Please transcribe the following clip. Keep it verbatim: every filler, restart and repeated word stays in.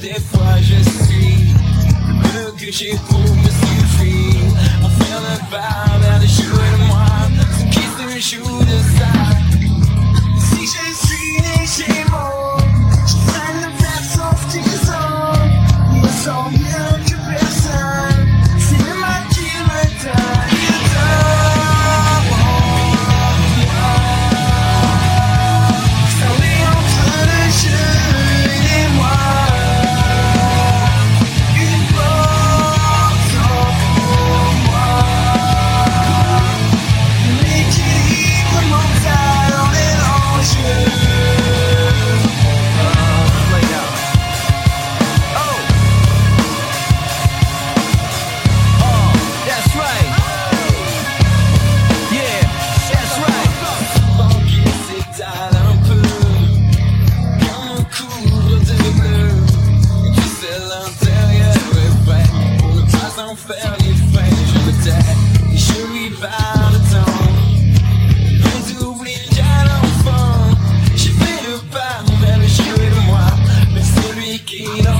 des fois je suis le que j'ai pour me suffire. En faire le pas vers les jours de moi, ce qui se joue de ça. Si je suis les Gémeaux, je traîne le verre sauf qu'ils ont. Il me sent mieux que personne, c'est le mal qui me donne. Il donne moi. Ça l'est entre le jeu et moi. Une porte pour moi. L'équilibre mental en mélange. Faire les frais, je me tais et je lui parle de temps. On oublie qu'à l'enfant, j'ai fait le pas vers le jeu de moi, mais celui qui n'en